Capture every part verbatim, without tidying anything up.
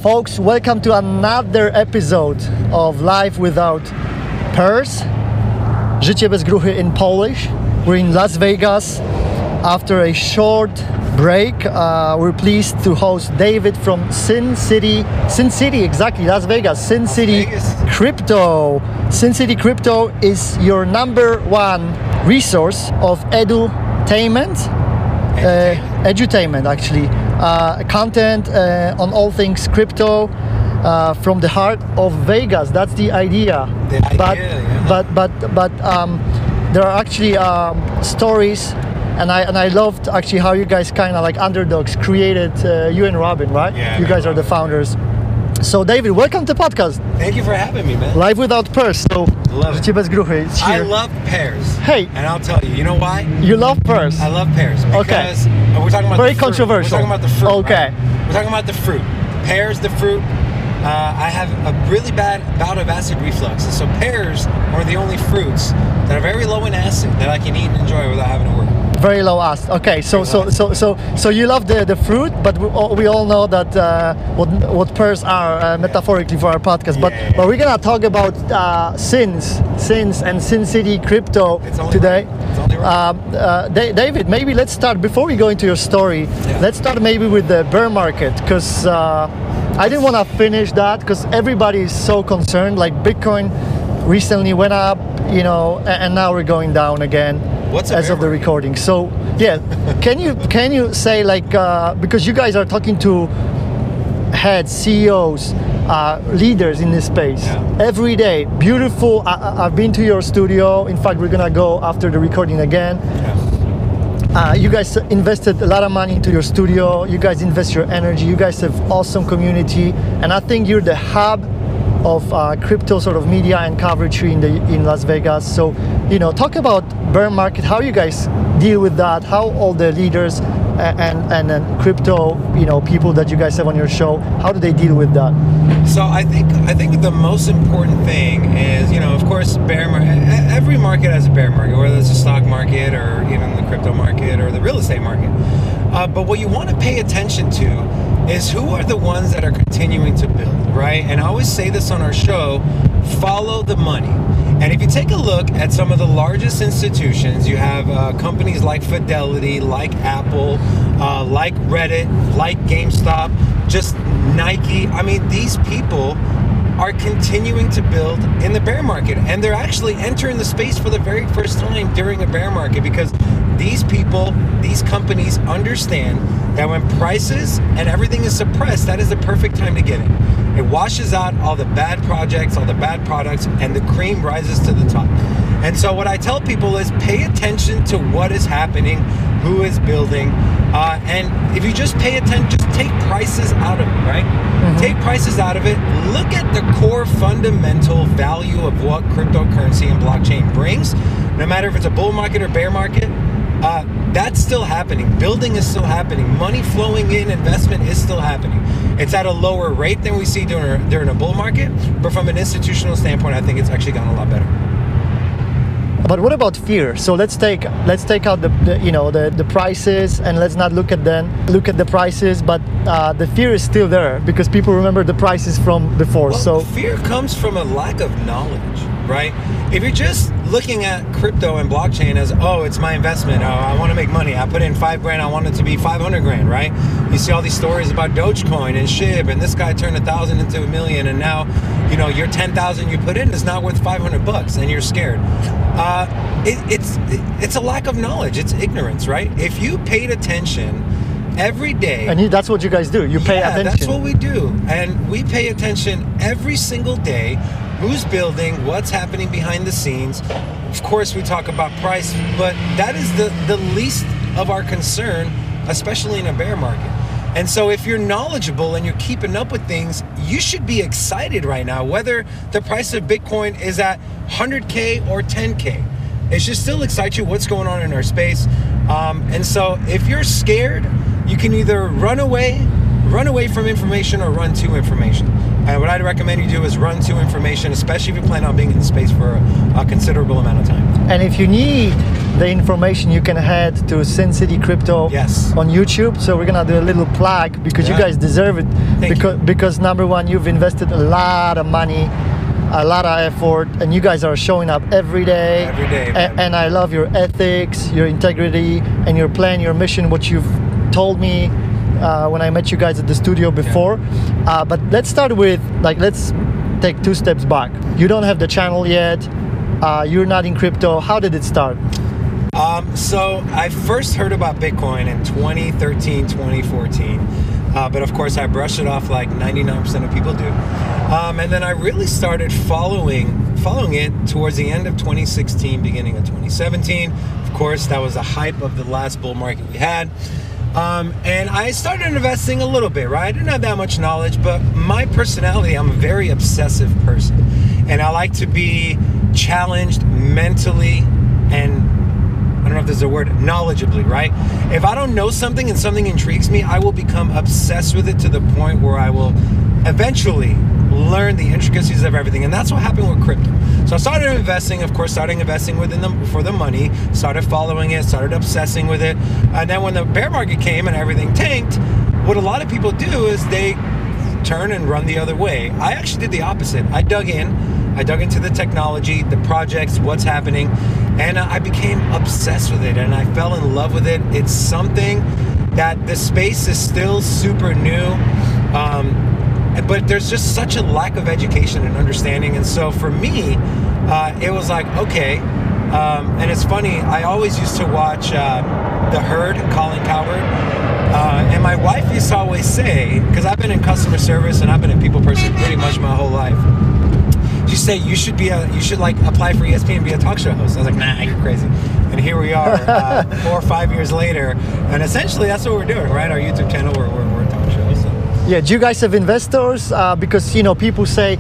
Folks, welcome to another episode of Life Without Purse. Życie bez gruchy in Polish. We're in Las Vegas. After a short break, uh, we're pleased to host David from Sin City, Sin City, exactly, Las Vegas, Sin City Vegas. Crypto. Sin City Crypto is your number one resource of edutainment, uh, edutainment actually, uh, content uh, on all things crypto uh, from the heart of Vegas. That's the idea. The idea, but, yeah. but but but um, there are actually um, stories. And I and I loved actually how you guys kind of like underdogs created uh, you and Robin, right? Yeah, you guys are the founders. So David, welcome to the podcast. Thank you for having me, man. Life Without Purse. So Love it. Życie bez gruchy. It's I here. love pears. Hey. And I'll tell you, you know why? You love purse. I love pears because Okay. we're talking about Very the fruit. controversial. We're talking about the fruit. Okay. right? We're talking about the fruit. Pears, the fruit. Uh, I have a really bad bout of acid reflux, and so pears are the only fruits that are very low in acid that I can eat and enjoy without having to work. Very low acid. Okay, so so so so so you love the, the fruit, but we all, we all know that uh, what what pears are uh, metaphorically for our podcast. But Yeah. but we're gonna talk about uh, sins, sins, and Sin City Crypto It's only today. right. It's only right. Um, uh, Da- David, maybe let's start before we go into your story. Yeah. Let's start maybe with the bear market, because uh, I didn't want to finish that because everybody is so concerned. Like Bitcoin recently went up, you know, a- and now we're going down again. What's a as bear of the market? recording? So yeah, can you can you say like uh, because you guys are talking to heads, C E Os, uh, leaders in this space Yeah. every day. Beautiful. I, I- I've been to your studio. In fact, we're gonna go after the recording again. Yeah. Uh, you guys invested a lot of money into your studio. You guys invest your energy. You guys have awesome community, and I think you're the hub of uh, crypto sort of media and coverage in the in Las Vegas. So, you know, talk about bear market. How you guys deal with that? How all the leaders and and, and then crypto, you know, people that you guys have on your show, how do they deal with that? So I think I think the most important thing is, you know, of course, bear market. Every market has a bear market, whether it's the stock market or even the crypto market or the real estate market. Uh, but what you want to pay attention to is who are the ones that are continuing to build, right? And I always say this on our show: follow the money. And if you take a look at some of the largest institutions, you have uh, companies like Fidelity, like Apple, uh, like Reddit, like GameStop, just Nike. I mean, these people are continuing to build in the bear market, and they're actually entering the space for the very first time during a bear market, because these people, these companies understand that when prices and everything is suppressed, that is the perfect time to get in. It washes out all the bad projects, all the bad products, and the cream rises to the top. And so what I tell people is pay attention to what is happening, who is building, uh, and if you just pay attention, just take prices out of it, right? Mm-hmm. Take prices out of it. Look at the core fundamental value of what cryptocurrency and blockchain brings. No matter if it's a bull market or bear market, uh, that's still happening. Building is still happening. Money flowing in, investment is still happening. It's at a lower rate than we see during a, during a bull market, but from an institutional standpoint, I think it's actually gotten a lot better. But what about fear? So let's take let's take out the, the you know the, the prices, and let's not look at them look at the prices, but uh, the fear is still there because people remember the prices from before. Well, so fear comes from a lack of knowledge, right? If you're just looking at crypto and blockchain as, oh, it's my investment, oh, I want to make money, I put in five grand, I want it to be five hundred grand, right? You see all these stories about Dogecoin and SHIB, and this guy turned a thousand into a million, and now, you know, your ten thousand you put in is not worth five hundred bucks, and you're scared. Uh, it, it's it, it's a lack of knowledge. It's ignorance, right? If you paid attention every day, and you, that's what you guys do. You pay yeah, attention. that's what we do, and we pay attention every single day. Who's building? What's happening behind the scenes? Of course, we talk about price, but that is the the least of our concern, especially in a bear market. And so if you're knowledgeable and you're keeping up with things, you should be excited right now, whether the price of Bitcoin is at one hundred K or ten K. It should still excite you what's going on in our space. Um, and so if you're scared, you can either run away run away from information or run to information. And what I'd recommend you do is run to information, especially if you plan on being in the space for a, a considerable amount of time. And if you need the information, you can head to Sin City Crypto yes. on YouTube. So we're gonna do a little plug because yeah. you guys deserve it. Thank because you. because number one, you've invested a lot of money, a lot of effort, and you guys are showing up every day. Every day. A- and I love your ethics, your integrity, and your plan, your mission, what you've told me uh, when I met you guys at the studio before. Yeah. Uh, but let's start with, like, let's take two steps back. You don't have the channel yet. Uh, you're not in crypto. How did it start? Um, so I first heard about Bitcoin in twenty thirteen, twenty fourteen. Uh, but of course, I brushed it off like ninety-nine percent of people do. Um, and then I really started following following it towards the end of twenty sixteen, beginning of twenty seventeen. Of course, that was the hype of the last bull market we had. Um, and I started investing a little bit, right? I didn't have that much knowledge, but my personality, I'm a very obsessive person. And I like to be challenged mentally and I don't know if there's a word, knowledgeably, right? If I don't know something and something intrigues me, I will become obsessed with it to the point where I will eventually learn the intricacies of everything. And that's what happened with crypto. So I started investing, of course, started investing within them for the money, started following it, started obsessing with it. And then when the bear market came and everything tanked, what a lot of people do is they turn and run the other way. I actually did the opposite. I dug in. I dug into the technology, the projects, what's happening, and I became obsessed with it and I fell in love with it. It's something that the space is still super new, um, but there's just such a lack of education and understanding. And so for me, uh, it was like, okay, um, and it's funny, I always used to watch uh, The Herd, Colin Cowherd, uh, and my wife used to always say, because I've been in customer service and I've been a people person pretty much my whole life, she said you should be a you should like apply for E S P N and be a talk show host. I was like, nah, you're crazy. And here we are, uh, four or five years later, and essentially that's what we're doing, right? Our YouTube channel, we're we're, we're a talk show. So. Yeah. Do you guys have investors? Uh, because you know people say,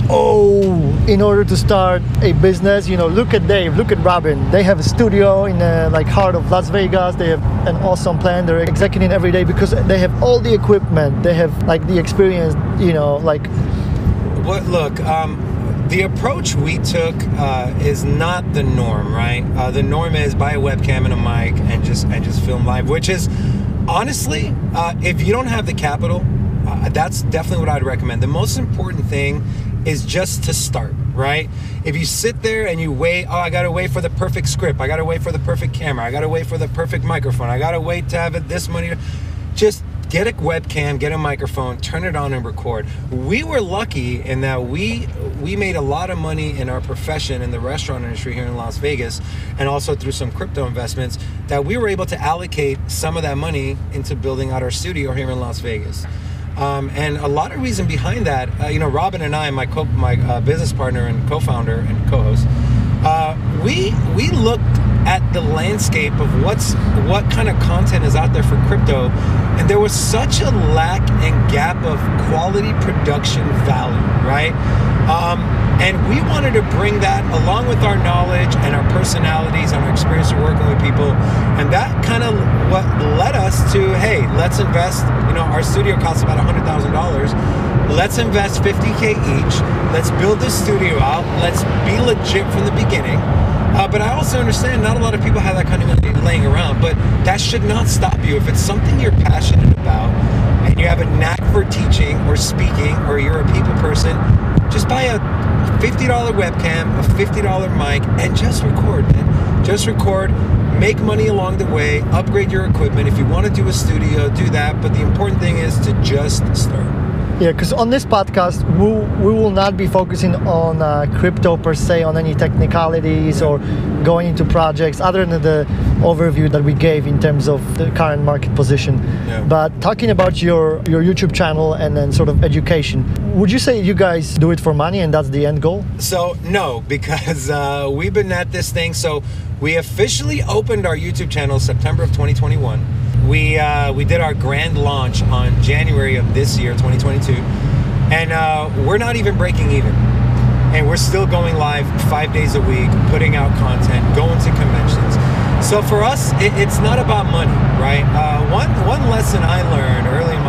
oh, in order to start a business, you know, look at Dave, look at Robin. They have a studio in the like heart of Las Vegas. They have an awesome plan. They're executing every day because they have all the equipment. They have like the experience. You know, like. What? Look. Um, The approach we took uh, is not the norm, right? Uh, the norm is buy a webcam and a mic and just and just film live, which is honestly, uh, if you don't have the capital, uh, that's definitely what I'd recommend. The most important thing is just to start, right? If you sit there and you wait, oh, I gotta wait for the perfect script, I gotta wait for the perfect camera, I gotta wait for the perfect microphone, I gotta wait to have it this money, just get a webcam, get a microphone, turn it on and record. We were lucky in that we we made a lot of money in our profession in the restaurant industry here in Las Vegas, and also through some crypto investments, that we were able to allocate some of that money into building out our studio here in Las Vegas. Um, and a lot of reason behind that, uh, you know, Robin and I, my co my uh, business partner and co-founder and co-host, uh, we we looked at the landscape of what's what kind of content is out there for crypto, and there was such a lack and gap of quality production value, right? Um, and we wanted to bring that along with our knowledge and our personalities and our experience of working with people, and that kind of what led us to, hey, let's invest. You know, our studio costs about one hundred thousand dollars. Let's invest fifty K each. Let's build this studio out. Let's be legit from the beginning. Uh, but I also understand not a lot of people have that kind of money laying around, but that should not stop you. If it's something you're passionate about and you have a knack for teaching or speaking, or you're a people person, just buy a fifty dollar webcam, a fifty dollar mic, and just record, man. Just record, make money along the way, upgrade your equipment. If you want to do a studio, do that. But the important thing is to just start. Yeah, because on this podcast, we, we will not be focusing on uh, crypto per se, on any technicalities or going into projects, other than the overview that we gave in terms of the current market position. Yeah. But talking about your, your YouTube channel and then sort of education, would you say you guys do it for money and that's the end goal? So, no, because uh, we've been at this thing. So we officially opened our YouTube channel September of twenty twenty-one. We uh, we did our grand launch on January of this year, twenty twenty-two, and uh, we're not even breaking even. And we're still going live five days a week, putting out content, going to conventions. So for us, it, it's not about money, right? Uh, one one lesson I learned early in my life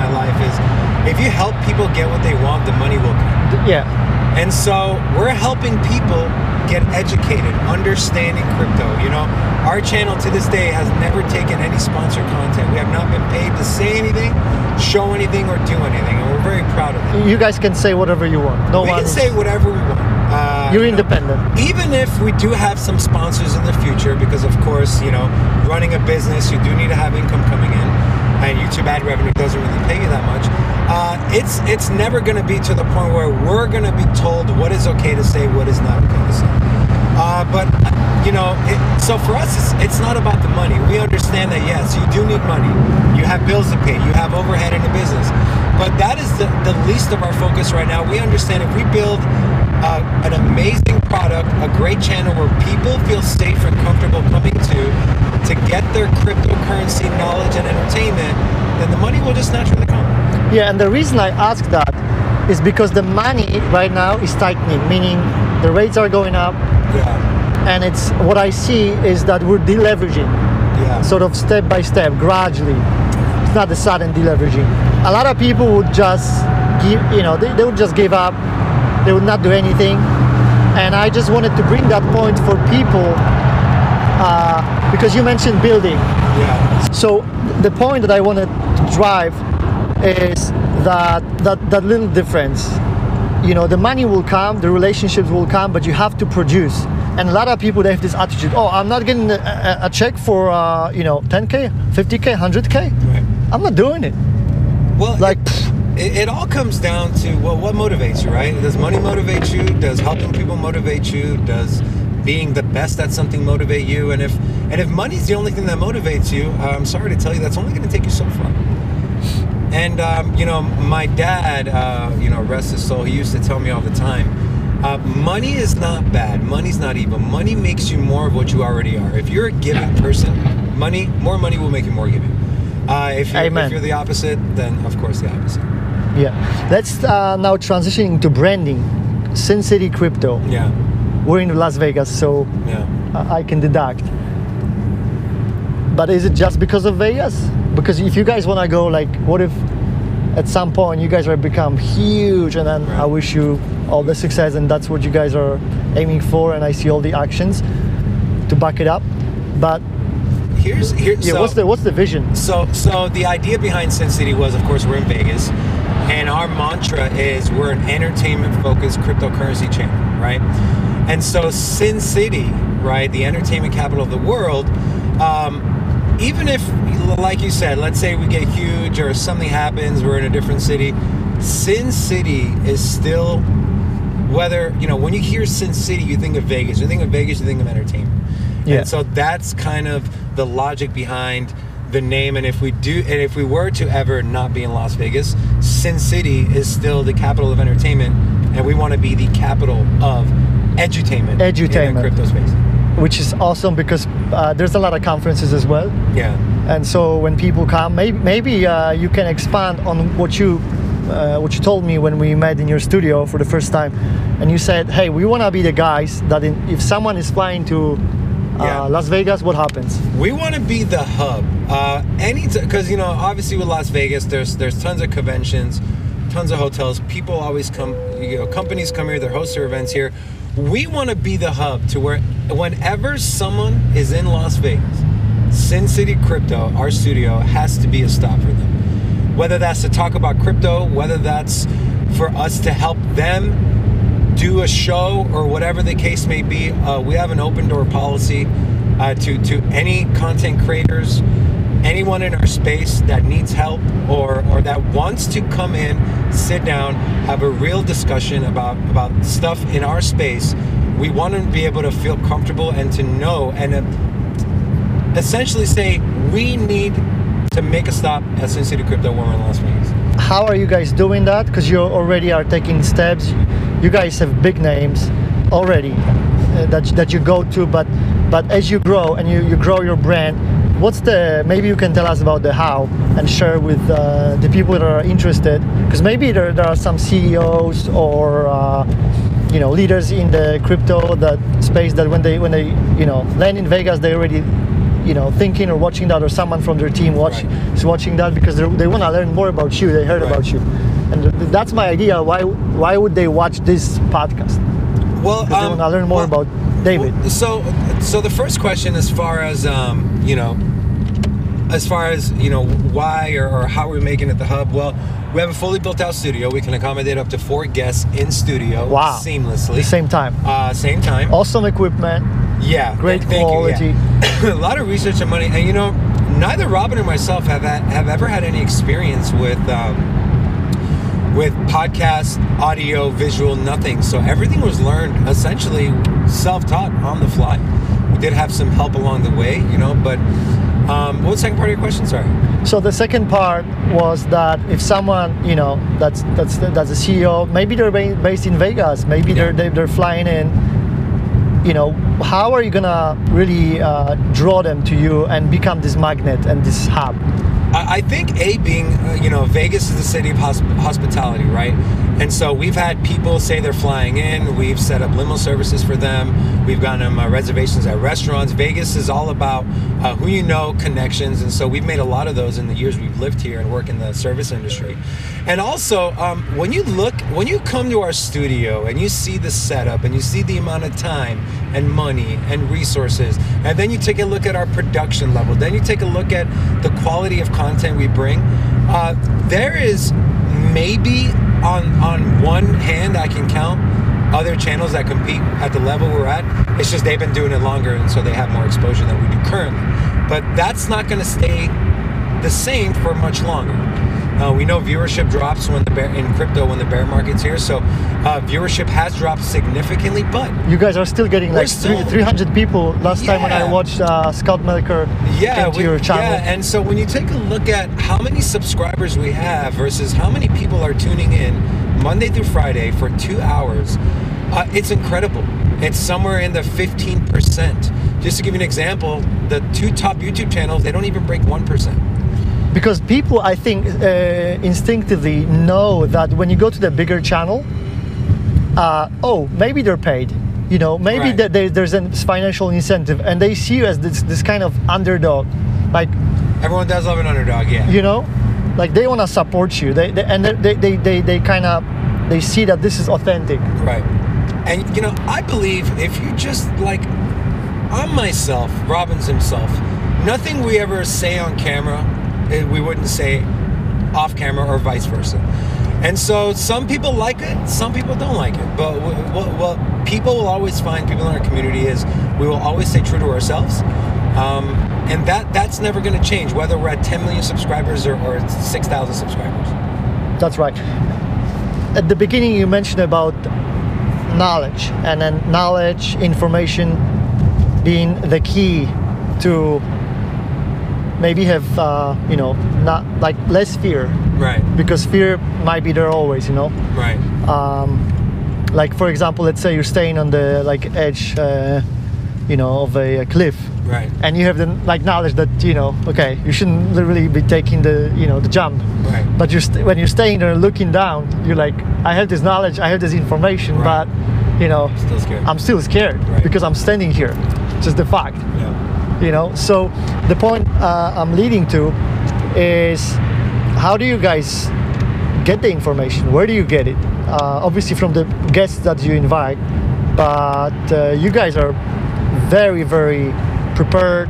is if you help people get what they want, the money will come. Yeah. And so we're helping people get educated, understanding crypto. You know, our channel to this day has never taken any sponsored content. We have not been paid to say anything, show anything, or do anything, and we're very proud of it. You guys can say whatever you want. No we one. can say whatever we want. Uh, You're you know, independent. even if we do have some sponsors in the future, because of course, you know, running a business, you do need to have income coming in, and YouTube ad revenue doesn't really pay you that much. Uh, it's it's never going to be to the point where we're going to be told what is okay to say, what is not okay to say. Uh, but you know, it, so for us, it's, it's not about the money. We understand that yes, you do need money. You have bills to pay. You have overhead in the business. But that is the, the least of our focus right now. We understand if we build uh, an amazing product, a great channel where people feel safe and comfortable coming to to get their cryptocurrency knowledge and entertainment, then the money will just naturally come. Yeah, and the reason I ask that is because the money right now is tightening, meaning the rates are going up, Yeah. and it's what I see is that we're deleveraging, Yeah. sort of step by step, gradually. It's not the sudden deleveraging. A lot of people would just give, you know, they, they would just give up. They would not do anything, and I just wanted to bring that point for people uh, because you mentioned building. Yeah. So the point that I wanted to drive is that that that little difference. You know, the money will come, the relationships will come, but you have to produce. And a lot of people, they have this attitude, oh, I'm not getting a, a, a check for, uh, you know, ten K, fifty K, one hundred K. Right. I'm not doing it. Well, Like, it, it, it all comes down to, well, what motivates you, right? Does money motivate you? Does helping people motivate you? Does being the best at something motivate you? And if and if money's the only thing that motivates you, uh, I'm sorry to tell you, that's only going to take you so far. And, um, you know, my dad, uh, you know, rest his soul, he used to tell me all the time, uh, money is not bad. Money's not evil. Money makes you more of what you already are. If you're a giving person, money, more money will make you more giving. Uh, if, you're, Amen. if you're the opposite, then of course the opposite. yeah. Let's uh, now transition into branding. Sin City Crypto. Yeah, We're in Las Vegas, so yeah. I I can deduct. But is it just because of Vegas? Because if you guys want to go, like, what if at some point you guys are become huge, and then Right. I wish you all the success, and that's what you guys are aiming for, and I see all the actions to back it up. But Here's here. yeah, so, what's the what's the vision? So, so the idea behind Sin City was, of course, we're in Vegas, and our mantra is we're an entertainment-focused cryptocurrency channel, right? And so Sin City, right, the entertainment capital of the world, um, even if, like you said, let's say we get huge or something happens, we're in a different city, Sin City is still, whether, you know, when you hear Sin City, you think of Vegas. You think of Vegas, you think of entertainment. Yeah. And so that's kind of the logic behind the name. And if we do, and if we were to ever not be in Las Vegas, Sin City is still the capital of entertainment, and we want to be the capital of edutainment, Edutainment. in the crypto space. Which is awesome because uh, there's a lot of conferences as well. Yeah. And so when people come, maybe maybe uh, you can expand on what you uh, what you told me when we met in your studio for the first time, and you said, "Hey, we want to be the guys that in, if someone is flying to uh, Yeah. Las Vegas, what happens?" We want to be the hub. Uh, any because you know, obviously with Las Vegas, there's there's tons of conventions, tons of hotels. People always come. You know, companies come here. They host their events here. We want to be the hub to where whenever someone is in Las Vegas, Sin City Crypto, our studio, has to be a stop for them. Whether that's to talk about crypto, whether that's for us to help them do a show or whatever the case may be, uh, we have an open door policy uh, to, to any content creators, anyone in our space that needs help or, or that wants to come in, sit down, have a real discussion about, about stuff in our space. We want to be able to feel comfortable and to know and uh, essentially say, we need to make a stop at Sin City Crypto when we're in Las Vegas. How are you guys doing that? Because you already are taking steps. You guys have big names already uh, that that you go to, but but as you grow and you, you grow your brand, what's the, maybe you can tell us about the how and share with uh, the people that are interested, because maybe there, there are some C E Os or uh, you know, leaders in the crypto that space that when they when they you know land in Vegas, they already you know, thinking or watching that, or someone from their team watch, Right. is watching that because they're- they want to learn more about you. They heard Right. about you, and th- that's my idea. Why why would they watch this podcast? Well, Because they want to learn more well, about David. well, so, so the first question, as far as um, you know, as far as you know, why or, or how we're making it the hub. Well, we have a fully built out studio. We can accommodate up to four guests in studio Wow. seamlessly. Same time, Uh, same time. awesome equipment, Yeah. great th- thank quality. You, yeah. A lot of research and money, and you know, neither Robin or myself have had, have ever had any experience with. Um, with podcast, audio, visual, nothing. So everything was learned essentially self-taught on the fly. We did have some help along the way, you know, but um, what was the second part of your question? Sorry. So the second part was that if someone, you know, that's that's that's a C E O, maybe they're ba- based in Vegas, maybe Yeah. they're they- they're flying in. You know, how are you gonna really uh, draw them to you and become this magnet and this hub? I I think A being, uh, you know, Vegas is the city of hosp- hospitality, right? And so we've had people say they're flying in. We've set up limo services for them. We've gotten them uh, reservations at restaurants. Vegas is all about uh, who you know, connections. And so we've made a lot of those in the years we've lived here and work in the service industry. And also, um, when you look, when you come to our studio and you see the setup and you see the amount of time and money and resources, and then you take a look at our production level, then you take a look at the quality of content we bring, uh, there is maybe on on one hand I can count other channels that compete at the level we're at. It's just they've been doing it longer, and so they have more exposure than we do currently. But that's not going to stay the same for much longer. Uh, we know viewership drops when the bear in crypto when the bear market's here, so uh, viewership has dropped significantly. But You guys are still getting We're like still- three hundred people. Last time when I Yeah. watched uh, Scott Melker yeah, came to we- your channel. yeah, and so when you take a look at how many subscribers we have versus how many people are tuning in Monday through Friday for two hours, uh, it's incredible. It's somewhere in the fifteen percent. Just to give you an example, the two top YouTube channels, they don't even break one percent. Because people, I think, uh, instinctively know that when you go to the bigger channel, uh, oh, maybe they're paid. You know, maybe Right. that there, there's a financial incentive, and they see you as this this kind of underdog, like, Everyone does love an underdog, yeah. you know, like they want to support you. They, they and they they they, they kind of they see that this is authentic. Right. And you know, I believe if you just like, I'm myself, Robbins himself, nothing we ever say on camera, eh, we wouldn't say off camera or vice versa. And so some people like it, some people don't like it. But what, what people will always find, people in our community, is we will always stay true to ourselves. Um, and that that's never going to change, whether we're at ten million subscribers or, or six thousand subscribers. That's right. At the beginning, you mentioned about knowledge, and then knowledge, information being the key to maybe have, uh, you know, not like less fear, Right, because fear might be there always, you know. right, Um, like for example, let's say you're staying on the like edge, uh, you know, of a, a cliff, right, and you have the like knowledge that you know, okay, you shouldn't really be taking the you know the jump. right. But you're st- when you're staying there looking down, you're like, I have this knowledge, I have this information, Right. but you know, Still scared. I'm still scared Right. because I'm standing here. Just the fact, yeah. you know. So the point uh, I'm leading to is, how do you guys get the information? Where do you get it? Uh, obviously from the guests that you invite, but uh, you guys are very, very prepared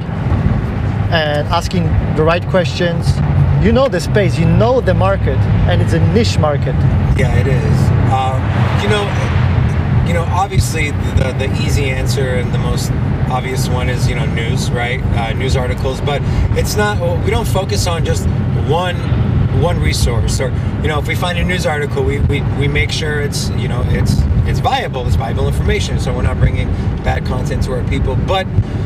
and asking the right questions. You know the space, you know the market, and it's a niche market. Yeah, it is. Um, you know, you know, obviously the the easy answer and the most obvious one is you know news, right? Uh, news articles, but it's not. We don't focus on just one one resource, or you know, if we find a news article, we, we, we make sure it's you know it's it's viable, it's viable information, so we're not bringing bad content to our people. But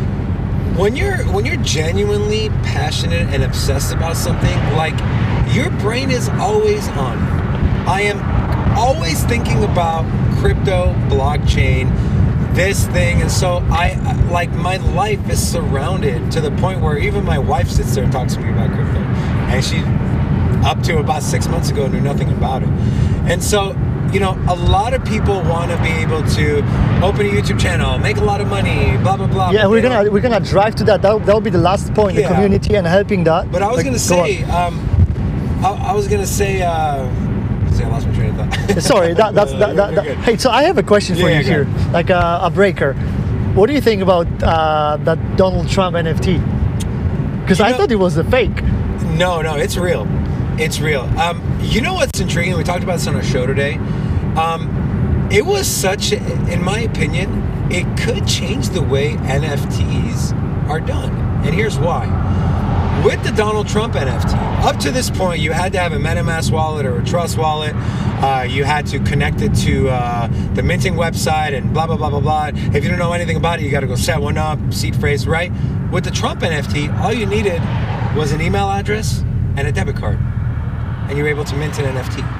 when you're when you're genuinely passionate and obsessed about something, like your brain is always on. I am always thinking about crypto, blockchain, this thing, and so I like my life is surrounded to the point where even my wife sits there and talks to me about crypto, and she up to about six months ago knew nothing about it. And so you know, a lot of people want to be able to open a YouTube channel, make a lot of money, blah blah blah. Yeah, but we're they gonna don't- we're gonna drive to that. That that'll be the last point, the Yeah. community and helping that. But I was Like, gonna go on. say, um, I, I was gonna say, uh, see, I lost my train of thought. Sorry, that, that's Uh, that, you're- that, you're that- good. Hey, so I have a question for Yeah, you yeah, here, go like a, a breaker. What do you think about uh, that Donald Trump N F T? Because You I know- thought it was a fake. No, no, it's real. It's real. Um, you know what's intriguing? We talked about this on our show today. Um, it was such, in my opinion, it could change the way N F Ts are done. And here's why. With the Donald Trump N F T, up to this point, you had to have a MetaMask wallet or a Trust wallet. Uh, you had to connect it to uh, the minting website and blah, blah, blah, blah, blah. If you don't know anything about it, you got to go set one up, seed phrase, right? With the Trump N F T, all you needed was an email address and a debit card. And you were able to mint an N F T.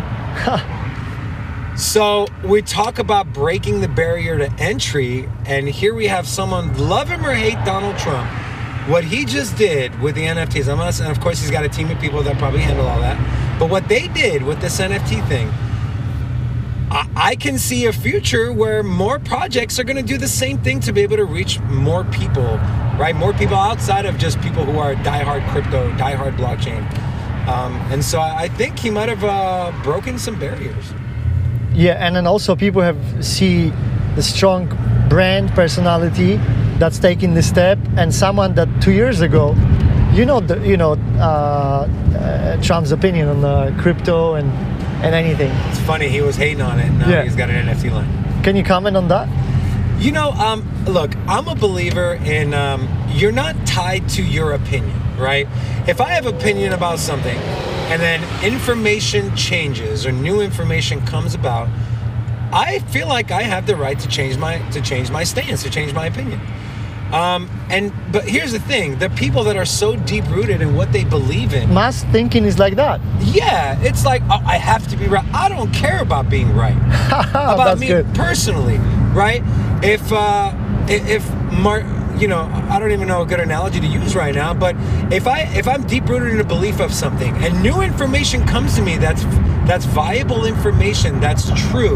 So we talk about breaking the barrier to entry, and here we have someone, love him or hate Donald Trump, what he just did with the N F Ts, I'm not, and of course he's got a team of people that probably handle all that, but what they did with this N F T thing, I, I can see a future where more projects are going to do the same thing to be able to reach more people, right? More people outside of just people who are diehard crypto, diehard blockchain. Um, and so I, I think he might have uh, broken some barriers. Yeah, and then also people have see the strong brand personality that's taking the step, and someone that two years ago, you know, the, you know, uh, uh, Trump's opinion on uh, crypto and and anything. It's funny, he was hating on it. Now Yeah. he's got an N F T line. Can you comment on that? You know, um, look, I'm a believer in um, you're not tied to your opinion, right? If I have opinion about something and then information changes or new information comes about, I feel like I have the right to change my to change my stance, to change my opinion. Um, and but here's the thing: the people that are so deep rooted in what they believe in, Mass thinking is like that. yeah, it's like oh, I have to be right. I don't care about being right. About That's me good. personally, right? If uh, if if Mar, you know, I don't even know a good analogy to use right now, but if I if I'm deep rooted in a belief of something and new information comes to me that's that's viable information, that's true,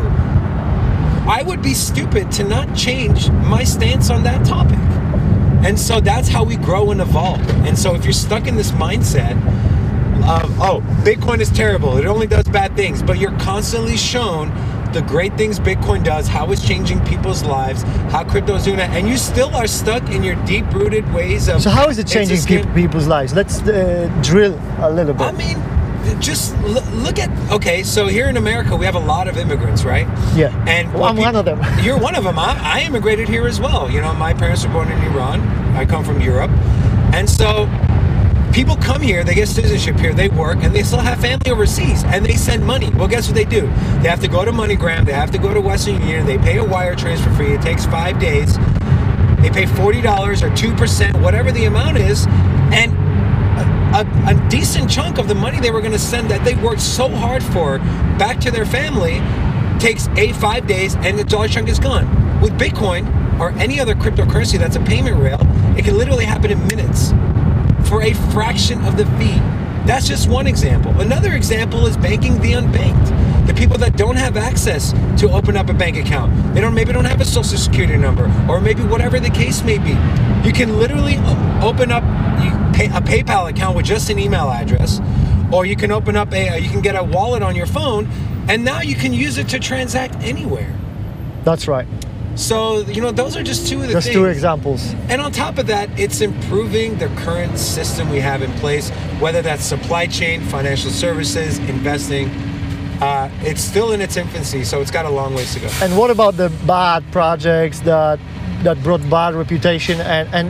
I would be stupid to not change my stance on that topic. And so that's how we grow and evolve. And so if you're stuck in this mindset of, oh, Bitcoin is terrible, it only does bad things, but you're constantly shown the great things Bitcoin does, how it's changing people's lives, how crypto is doing that, and you still are stuck in your deep-rooted ways of... So how is it it's changing a scam- peop people's lives? Let's uh, drill a little bit. I mean, just l- look at, okay, so here in America, we have a lot of immigrants, right? Yeah. And Well, what I'm peop- one of them. You're one of them. I, I immigrated here as well. You know, my parents were born in Iran. I come from Europe. And so people come here, they get citizenship here, they work, and they still have family overseas, and they send money. Well, guess what they do? They have to go to MoneyGram, they have to go to Western Union, they pay a wire transfer fee, it takes five days, they pay forty dollars or two percent, whatever the amount is, and a, a decent chunk of the money they were going to send that they worked so hard for back to their family takes eight, five days, and the dollar chunk is gone. With Bitcoin or any other cryptocurrency that's a payment rail, it can literally happen in minutes for a fraction of the fee. That's just one example. Another example is banking the unbanked. The people that don't have access to open up a bank account. They don't maybe don't have a social security number, or maybe whatever the case may be. You can literally o- open up you pay, a PayPal account with just an email address, or you can open up a you can get a wallet on your phone, and now you can use it to transact anywhere. That's right. So, you know, those are just two of the Just things. two examples. And on top of that, it's improving the current system we have in place, whether that's supply chain, financial services, investing. Uh, it's still in its infancy, so it's got a long ways to go. And what about the bad projects that that brought bad reputation? And and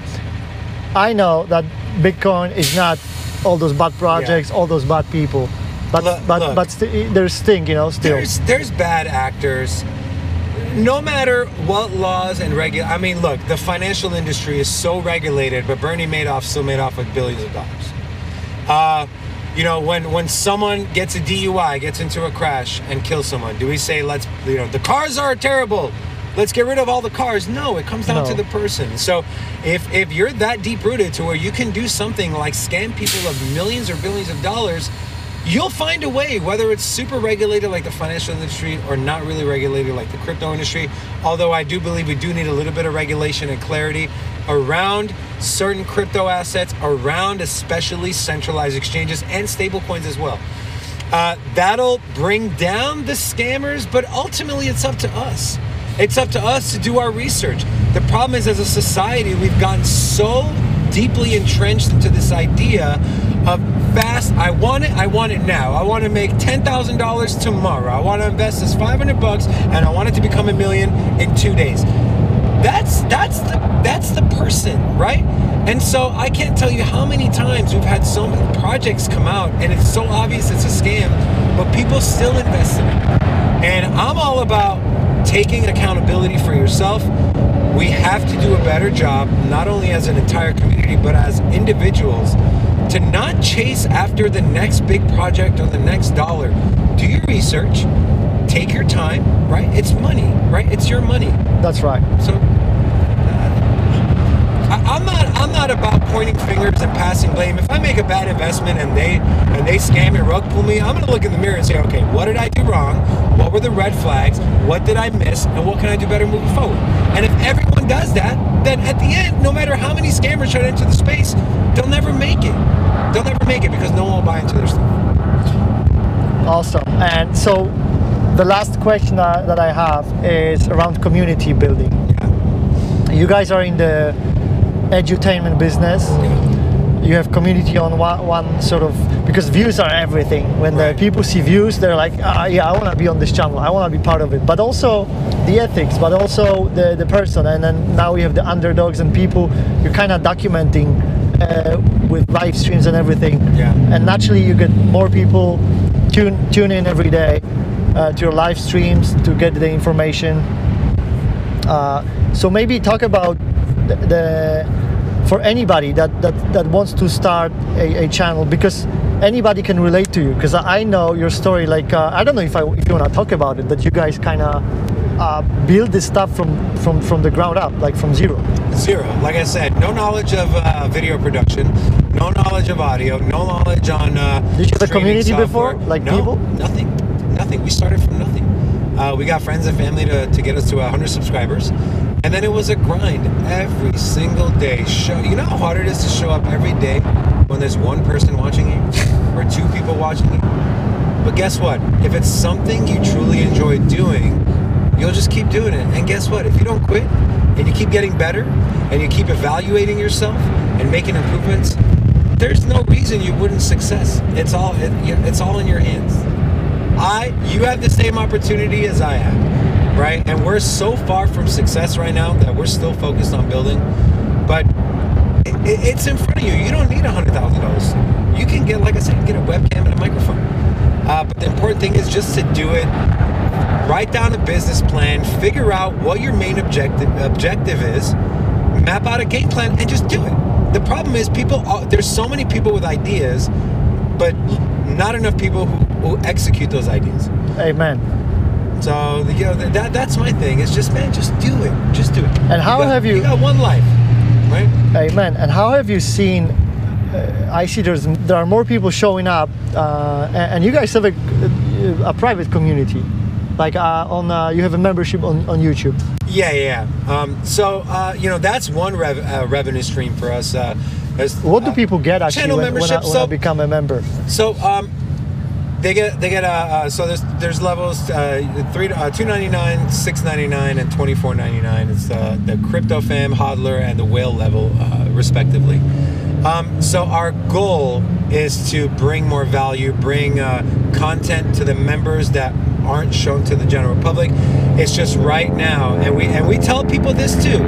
I know that Bitcoin is not all those bad projects, all those bad people, but Look- but look. but st- there's stink, you know, still. There's there's bad actors. No matter what laws and regul, I mean, look, the financial industry is so regulated, but Bernie Madoff still made off with billions of dollars. Uh, you know, when when someone gets a D U I, gets into a crash and kills someone, do we say, let's, you know, the cars are terrible, let's get rid of all the cars? No, it comes down No. to the person. So if if you're that deep rooted to where you can do something like scam people of millions or billions of dollars, you'll find a way, whether it's super regulated like the financial industry or not really regulated like the crypto industry. Although I do believe we do need a little bit of regulation and clarity around certain crypto assets, around especially centralized exchanges and stable coins as well. Uh, that'll bring down the scammers, but ultimately it's up to us. It's up to us to do our research. The problem is, as a society, we've gotten so deeply entrenched into this idea of fast, I want it, I want it now. I want to make ten thousand dollars tomorrow. I want to invest this five hundred bucks and I want it to become a million in two days. That's that's the that's the person, right? And so I can't tell you how many times we've had so many projects come out and it's so obvious it's a scam, but people still invest in it. And I'm all about taking accountability for yourself. We have to do a better job, not only as an entire community, but as individuals, to not chase after the next big project or the next dollar. Do your research, take your time, right? It's money, right? It's your money. That's right. So I, I'm not I'm not about pointing fingers and passing blame. If I make a bad investment and they and they scam and rug pull me, I'm gonna look in the mirror and say, okay, what did I do wrong? What were the red flags? What did I miss? And what can I do better moving forward? And if everyone does that, then at the end, no matter how many scammers try to enter the space, they'll never make it. They'll never make it because no one will buy into their stuff. Awesome. And so the last question uh, that I have is around community building. Yeah. You guys are in the edutainment business. Yeah. You have community on one, one sort of, because views are everything. When Right. the people see views, they're like, ah, yeah, I want to be on this channel. I want to be part of it. But also the ethics, but also the, the person. And then now we have the underdogs and people. You're kind of documenting uh, with live streams and everything. Yeah. And naturally you get more people tune, tune in every day uh, to your live streams to get the information. Uh, so maybe talk about the, the for anybody that, that, that wants to start a, a channel, because anybody can relate to you. Because I know your story, like, uh, I don't know if, I, if you want to talk about it, but you guys kind of uh, build this stuff from, from, from the ground up, like from zero. Zero. Like I said, no knowledge of uh, video production, no knowledge of audio, no knowledge on uh, Did you have a training community software. before? Like no, people? Nothing. Nothing. We started from nothing. Uh, we got friends and family to, to get us to one hundred subscribers. And then it was a grind every single day. Show, you know how hard it is to show up every day when there's one person watching you or two people watching you? But guess what? If it's something you truly enjoy doing, you'll just keep doing it. And guess what? If you don't quit and you keep getting better and you keep evaluating yourself and making improvements, there's no reason you wouldn't success. It's all it, it's all in your hands. I, you have the same opportunity as I have, right? And we're so far from success right now that we're still focused on building. But it, it's in front of you. You don't need one hundred thousand dollars. You can get, like I said, get a webcam and a microphone. Uh, but the important thing is just to do it. Write down a business plan. Figure out what your main objective objective is. Map out a game plan and just do it. The problem is people. There's so many people with ideas, but not enough people who, who execute those ideas. Amen. So you know that that's my thing. It's just, man, just do it. Just do it. And how you got, have you? You got one life, right? Amen. And how have you seen? Uh, I see there's there are more people showing up, uh, and, and you guys have a, a private community, like uh, on uh, you have a membership on, on YouTube. Yeah, yeah. Um, so uh, you know that's one rev- uh, revenue stream for us. Uh, what do uh, people get actually channel when, when, membership? I, when so, I become a member? So um, they get they get uh, uh, so there's there's levels uh, three uh, two ninety nine, six ninety nine, and twenty four ninety nine. It's uh, the Crypto Fam, Hodler, and the Whale level, uh, respectively. Um, so our goal is to bring more value, bring uh, content to the members that aren't shown to the general public. It's just right now, and we and we tell people this too.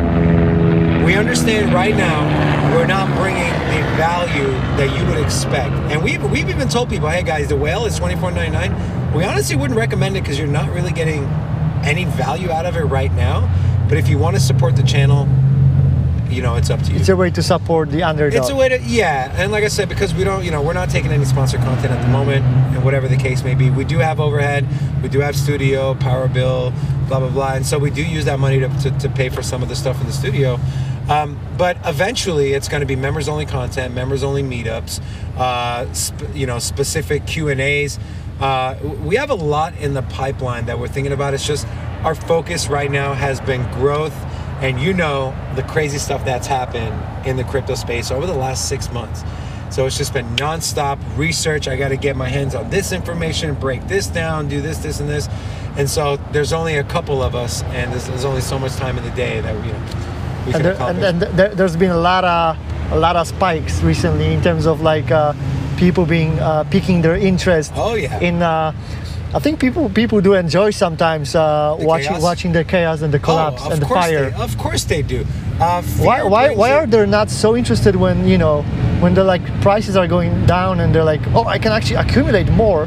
We understand right now we're not bringing the value that you would expect, and we've we've even told people, hey guys, the Whale is twenty-four ninety-nine. We honestly wouldn't recommend it because you're not really getting any value out of it right now. But if you want to support the channel, you know, it's up to you. It's a way to support the underdog. It's a way to, yeah. And like I said, because we don't, you know, we're not taking any sponsored content at the moment, and whatever the case may be, we do have overhead, we do have studio, power bill, blah, blah, blah. And so we do use that money to, to, to pay for some of the stuff in the studio. Um, but eventually it's going to be members only content, members only meetups, uh, sp- you know, specific Q and A's. Uh, we have a lot in the pipeline that we're thinking about. It's just our focus right now has been growth. And you know the crazy stuff that's happened in the crypto space over the last six months. So it's just been nonstop research. I got to get my hands on this information, break this down, do this, this, and this. And so there's only a couple of us, and there's, there's only so much time in the day that we, you know, we can and, there, accomplish. and, and there, there's been a lot of a lot of spikes recently in terms of like uh, people being uh, piquing their interest. Oh yeah. In uh, I think people people do enjoy sometimes uh, The watching chaos? watching the chaos and the collapse oh, of and the course fire. They, of course they do. Uh, Why fear why brings why it- are they not so interested when you know when the like prices are going down and they're like, oh, I can actually accumulate more?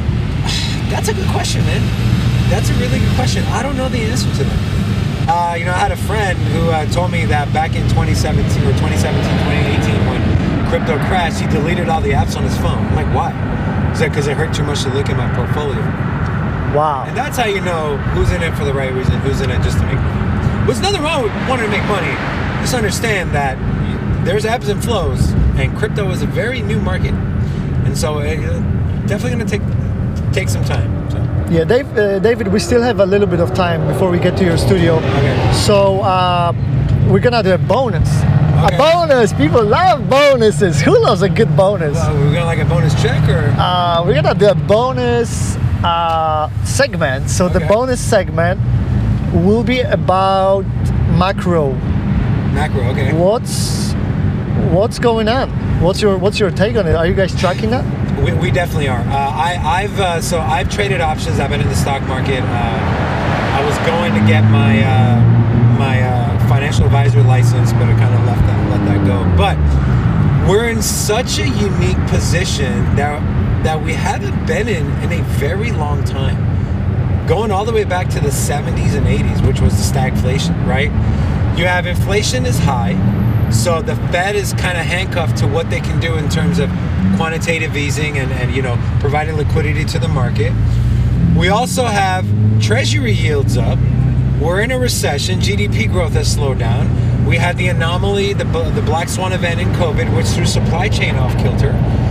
That's a good question, man. That's a really good question. I don't know the answer to that. Uh, you know, I had a friend who uh, told me that back in twenty seventeen or twenty seventeen, twenty eighteen, when crypto crashed, he deleted all the apps on his phone. I'm like, why? He said, because it hurt too much to look at my portfolio. Wow. And that's how you know who's in it for the right reason, who's in it just to make money. There's nothing wrong with wanting to make money. Just understand that there's ebbs and flows, and crypto is a very new market. And so it's definitely going to take take some time. So. Yeah, Dave, uh, David, we still have a little bit of time before we get to your studio. Okay. So uh, we're gonna do a bonus. Okay. A bonus. People love bonuses. Who loves a good bonus? Uh, we're gonna like a bonus check or? Uh, we're gonna do a bonus uh, segment. So the Okay. bonus segment will be about macro. Macro, okay. What's what's going on? What's your what's your take on it? Are you guys tracking that? We, we definitely are. Uh, I, I've uh, so I've traded options. I've been in the stock market. Uh, I was going to get my uh, my uh, financial advisor license, but I kind of left that let that go. But we're in such a unique position that that we haven't been in in a very long time. Going all the way back to the seventies and eighties, which was the stagflation, right? You have inflation is high, so the Fed is kind of handcuffed to what they can do in terms of quantitative easing and, and you know providing liquidity to the market. We also have treasury yields up. We're in a recession. G D P growth has slowed down. We had the anomaly, the, the black swan event in COVID, which threw supply chain off kilter.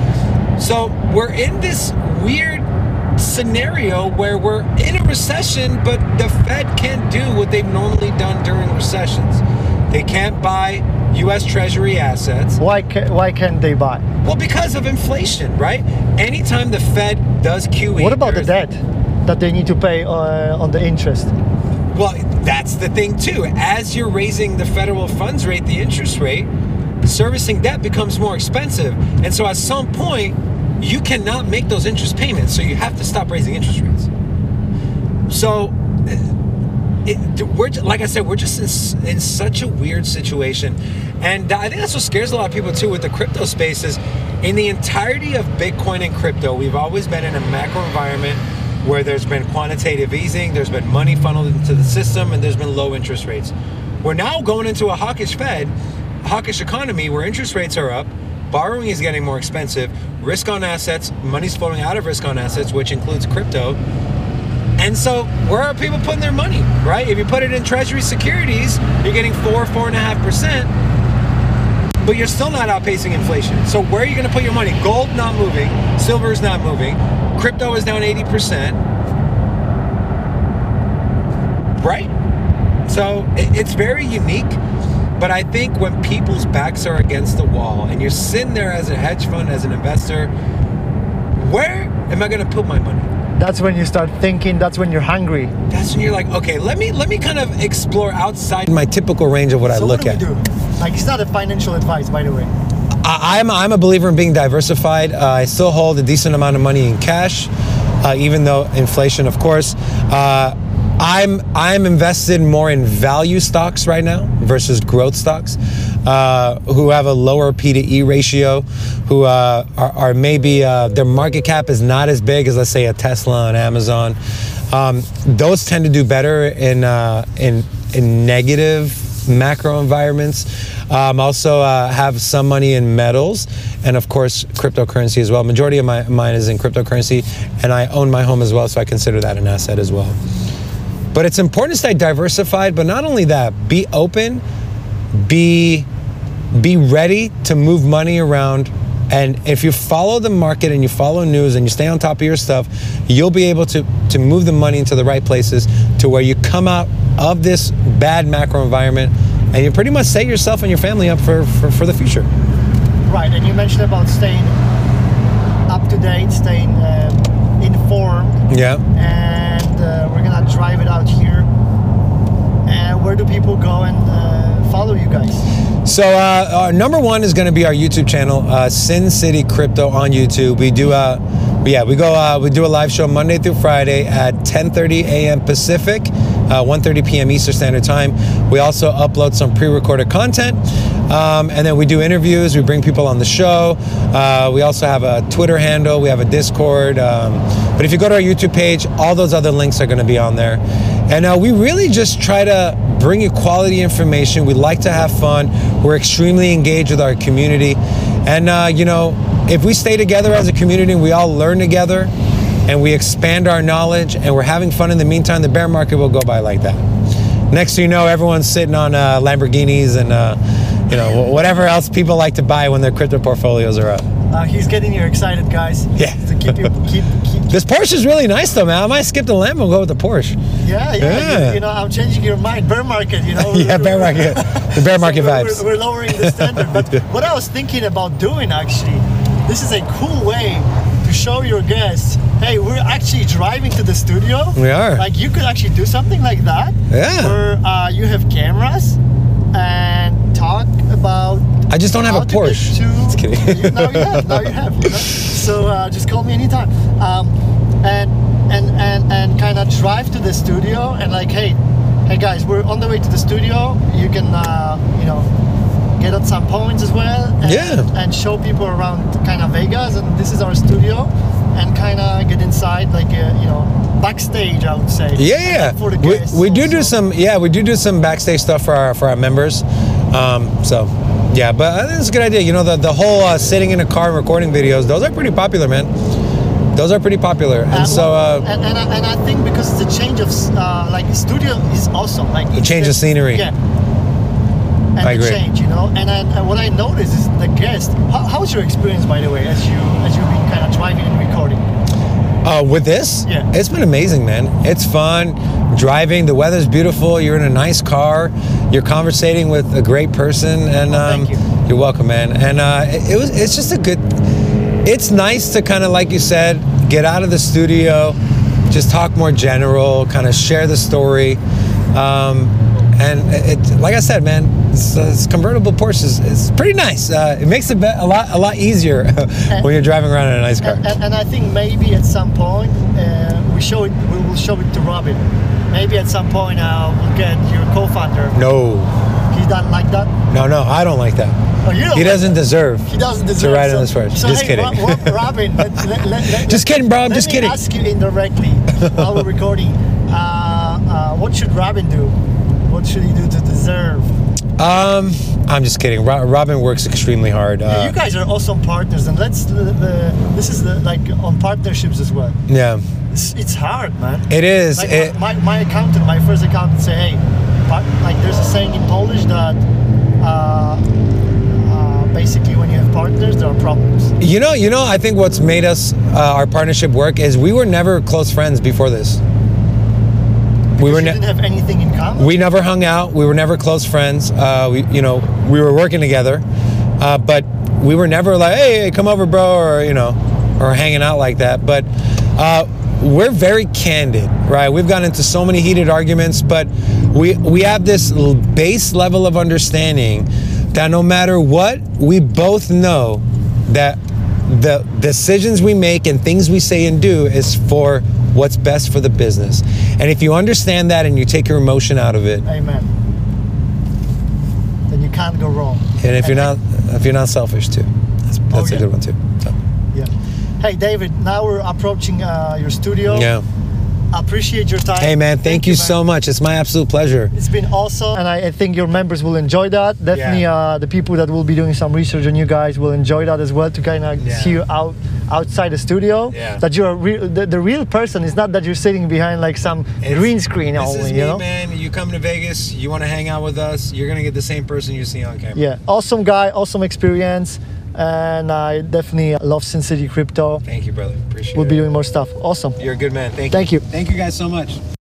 So we're in this weird scenario where we're in a recession, but the Fed can't do what they've normally done during recessions. They can't buy U S Treasury assets. Why can, why can't they buy? Well, because of inflation, right? Anytime the Fed does Q E, What about the there's- debt that they need to pay uh, on the interest? Well, that's the thing too. As you're raising the federal funds rate, the interest rate, servicing debt becomes more expensive. And so at some point, you cannot make those interest payments. So you have to stop raising interest rates. So it, we're, like I said, we're just in, in such a weird situation. And I think that's what scares a lot of people too with the crypto space is in the entirety of Bitcoin and crypto, we've always been in a macro environment where there's been quantitative easing, there's been money funneled into the system, and there's been low interest rates. We're now going into a hawkish Fed, hawkish economy where interest rates are up, borrowing is getting more expensive, risk on assets, money's flowing out of risk on assets, which includes crypto. And so where are people putting their money, right? If you put it in treasury securities, you're getting four, four and a half percent, but you're still not outpacing inflation. So where are you gonna put your money? Gold not moving, silver is not moving, crypto is down eighty percent, right? So it's very unique, but I think when people's backs are against the wall and you're sitting there as a hedge fund, as an investor, where am I gonna put my money? That's when you start thinking, that's when you're hungry. That's when you're like, okay, let me let me kind of explore outside my typical range of what I So look what do at. we do? Like, it's not a financial advice, by the way. I, I'm, I'm a believer in being diversified. Uh, I still hold a decent amount of money in cash, uh, even though inflation, of course. Uh, I'm I'm invested more in value stocks right now versus growth stocks, uh, who have a lower P to E ratio, who uh, are, are maybe uh, their market cap is not as big as, let's say, a Tesla and Amazon. Um, those tend to do better in uh, in in negative macro environments. Um, also uh, have some money in metals, and of course cryptocurrency as well. Majority of my mine is in cryptocurrency, and I own my home as well, so I consider that an asset as well. But it's important to stay diversified, but not only that, be open, be be ready to move money around. And if you follow the market and you follow news and you stay on top of your stuff, you'll be able to, to move the money into the right places to where you come out of this bad macro environment and you pretty much set yourself and your family up for, for, for the future. Right, and you mentioned about staying up to date, staying um, informed. Yeah. And uh, we're gonna drive it out here. And where do people go and uh, follow you guys? So uh, our number one is going to be our YouTube channel, uh, Sin City Crypto on YouTube. We do, uh, yeah, we go, uh, we do a live show Monday through Friday at ten thirty a m Pacific, uh, one thirty p m Eastern Standard Time. We also upload some pre-recorded content, um, and then we do interviews. We bring people on the show. Uh, we also have a Twitter handle. We have a Discord. Um, but if you go to our YouTube page, all those other links are going to be on there. And uh, we really just try to bring you quality information. We like to have fun. We're extremely engaged with our community. And, uh, you know, if we stay together as a community and we all learn together and we expand our knowledge and we're having fun in the meantime, the bear market will go by like that. Next thing you know, everyone's sitting on uh, Lamborghinis and, uh, you know, whatever else people like to buy when their crypto portfolios are up. Uh, he's getting you excited, guys. Yeah. To keep you, keep, keep. This Porsche is really nice, though, man. I might skip the Lambo and go with the Porsche. Yeah, yeah. Yeah. You, you know, I'm changing your mind. Bear market, you know. Yeah, bear market. The bear market so vibes. We're, we're lowering the standard. But what I was thinking about doing, actually, this is a cool way to show your guests, hey, we're actually driving to the studio. We are. Like, you could actually do something like that. Yeah. Where uh, you have cameras and talk about. I just don't have a Porsche. To, just kidding. You, now you have. Now you have. You know? So uh, just call me anytime. Um, and and and and kind of drive to the studio and like, hey, hey guys, we're on the way to the studio. You can, uh, you know, get at some points as well. And, Yeah. And show people around kind of Vegas, and this is our studio, and kind of get inside, like, uh, you know, backstage, I would say. Yeah, yeah. For the we, guests we do also. do some, yeah, we do do some backstage stuff for our for our members. Um, so, yeah, but I think it's a good idea. You know, the the whole uh, sitting in a car and recording videos, those are pretty popular, man. Those are pretty popular, and Uh, so well, uh, and, and, I, and I think because the change of uh, like studio is awesome, like the it's change of just- scenery. Yeah. And I the agree. change, you know, and, I, and what I noticed is the guest. How, how's your experience, by the way, as you as you've been kind of driving and recording? Uh, with this, Yeah. it's been amazing, man. It's fun driving. The weather's beautiful. You're in a nice car. You're conversating with a great person, and Oh, um, thank you. you're welcome, man. And uh, it, it was. It's just a good. It's nice to kind of, like you said, get out of the studio, just talk more general, kind of share the story, um, and it. Like I said, man, it's, uh, it's convertible Porsche is it's pretty nice. Uh, it makes it be- a lot a lot easier when you're driving around in a nice car. And, and, and I think maybe at some point uh, we show it. We will show it to Robin. Maybe at some point uh, we'll get your co-founder. No. He doesn't like that. No, no, I don't like that. Oh, you don't He like doesn't that? deserve He doesn't to deserve ride so, in this Porsche. So Just hey, kidding. Ro- Ro- Robin, let, let, let, let, Just kidding, bro. I'm let just me kidding. ask you indirectly while we're recording. Uh, uh, what should Robin do? What should he do to deserve? Um, I'm just kidding. Ro- Robin works extremely hard. Yeah, Uh, you guys are awesome partners, and let's. The, the, this is the, like on partnerships as well. yeah, It's, it's hard, man. it is. Like It, my, my accountant, my first accountant, say, hey, part, like there's a saying in Polish that uh, uh, basically when you have partners, there are problems. you know, you know. I think what's made us uh, our partnership work is we were never close friends before this. We were you ne- didn't have anything in common. we never hung out. We were never close friends. Uh, we, you know, we were working together, uh, but we were never like, hey, hey, come over, bro, or you know, or hanging out like that. But uh, we're very candid, right? We've gotten into so many heated arguments, but we we have this l- base level of understanding that no matter what, we both know that the decisions we make and things we say and do is for what's best for the business. And if you understand that and you take your emotion out of it, Amen. Then you can't go wrong. and if you're not if you're not selfish too, that's, that's yeah. a good one too. So, Yeah. Hey, David. Now we're approaching uh, your studio. yeah. I appreciate your time. Hey man, thank, you, so much. It's my absolute pleasure. It's been awesome, and I, I think your members will enjoy that. Definitely, Yeah. uh, the people that will be doing some research on you guys will enjoy that as well, to kind of Yeah. see you out outside the studio. Yeah. That you're a real, the, the real person. It's not that you're sitting behind like some It's- green screen This only. is me, you know. man. You come to Vegas, you want to hang out with us, you're gonna get the same person you see on camera. Yeah, awesome guy, awesome experience, and I definitely love Sin City Crypto. Thank you, brother. Appreciate We'll it. be doing more stuff. Awesome. You're a good man. Thank you. Thank you. Thank you guys so much.